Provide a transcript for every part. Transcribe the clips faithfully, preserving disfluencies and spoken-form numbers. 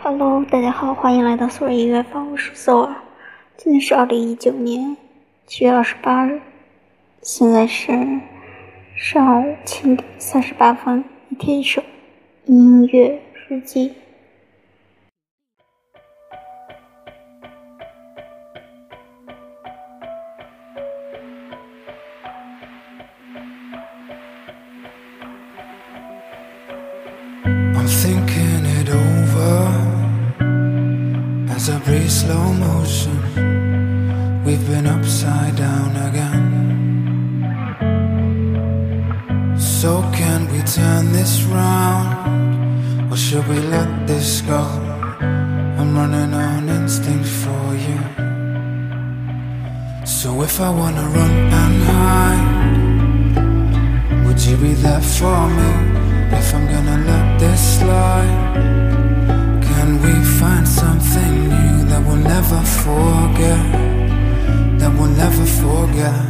Hello， 大家好，欢迎来到索尔音乐坊，我是索尔。今天是二零一九年七月二十八日，现在是上午七点三十八分。一天一首音乐日记。 I'm thinking it over as I breathe slow motion. We've been upside down again. So can we turn this round, or should we let this go? I'm running on instinct for you. So if I wanna run and hide, would you be there for me? If I'm gonna let this slide, can we find something new that we'll never forget, that we'll never forget?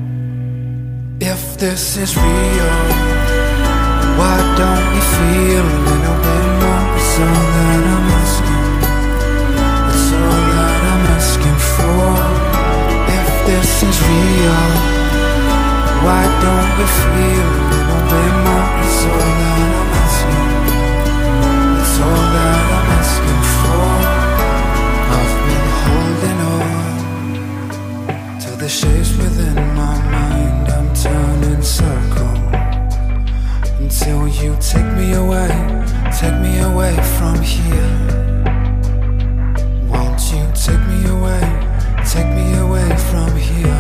If this is real, why don't we feel a little bit more? It's all that I'm asking, it's all that I'm asking for. If this is real, why don't we feel a little bit more? It's all that I'm asking, it's all that I'm asking for. I've been holding on to the shapes within my mind. I'm turning circles until you take me away, take me away from here. Won't you take me away, take me away from here?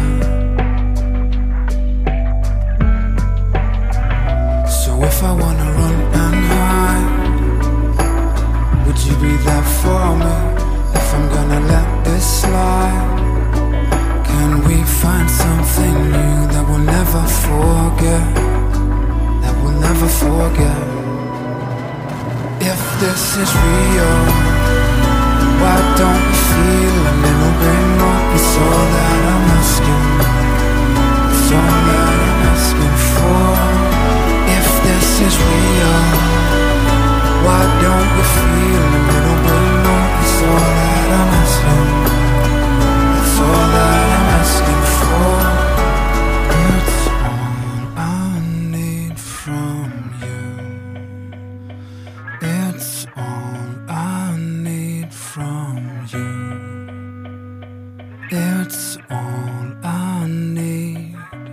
If I wanna run and hide, would you be there for me? If I'm gonna let this slide, can we find something new that we'll never forget, that we'll never forget? If this is real, why don't we feel a little bit more? It's all that I'm asking, it's all that I'm asking for. This is real, why don't we feel a little bit more? It's all that I'm asking, it's all that I'm asking for. It's all I need from you, it's all I need from you, it's all I need.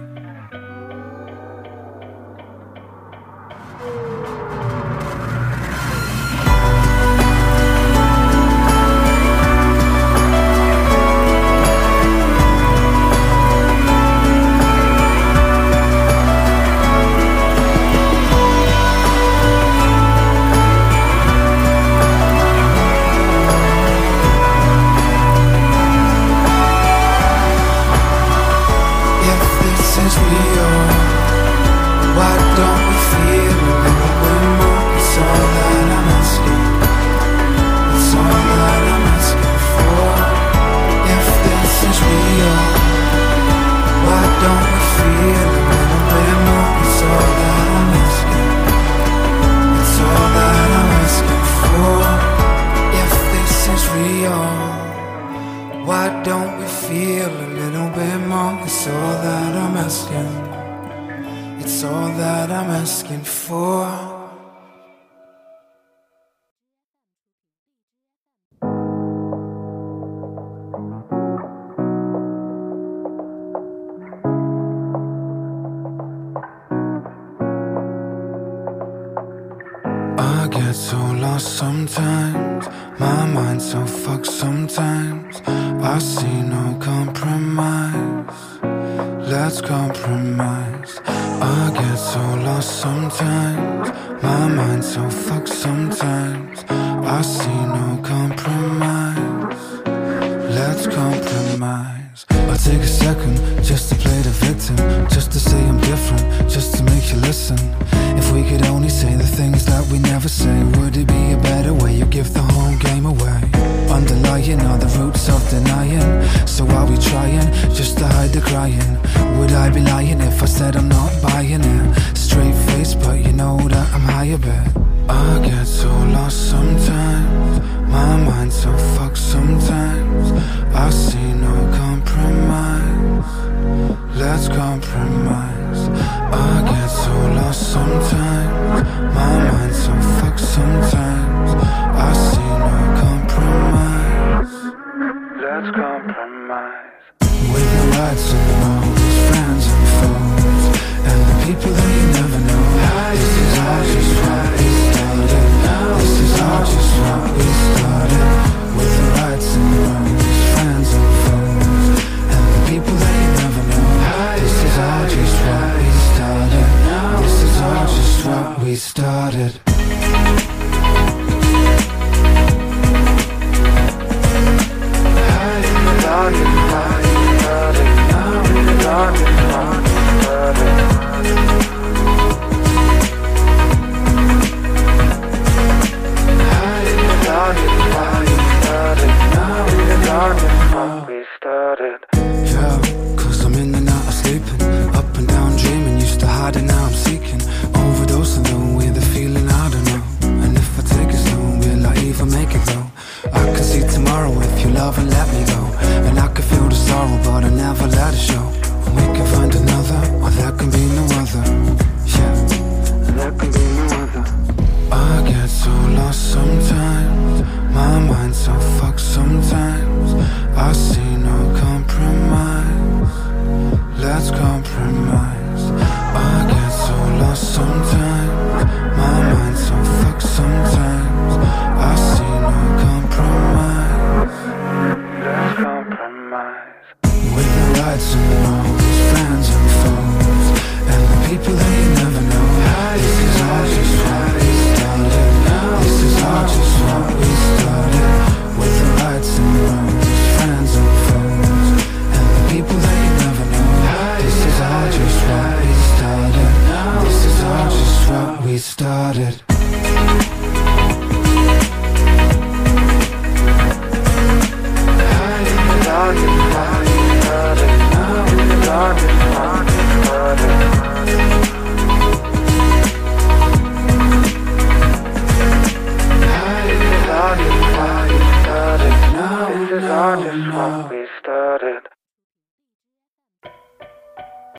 Why don't we feel a little bit more? It's all that I'm asking, it's all that I'm asking for. I get so lost sometimes, my mind's so fucked sometimes. I see no compromise, let's compromise. I get so lost sometimes, my mind's so fucked sometimes. I see no compromise, let's compromise. I take a second just to play the victim, just to say I'm different, just to make you listen. If we could only say the things that we never say, would it be a better way? You give the whole game away. Underlying are the roots of denying, so are we trying just to hide the crying? Would I be lying if I said I'm not buying it? Straight face, but you know that I'm high a bit. I get so lost sometimes, love and let me go. And I can feel the sorrow, but I never let it show. We can find another, or there can be no other. Yeah, there can be no other. I get so lost sometimes, my mind's so fucked sometimes. I see no compromise, let's compromise. I get so lost sometimes, my mind's so fucked sometimes. I see no compromise, let's compromise. With the rights and wrongs, friends and foes, and the people that you never know. This is all just what we started. This is all just what we started. With the rights and wrongs, friends and foes, and the people that you never know. This is all just what we started. This is all just what we started.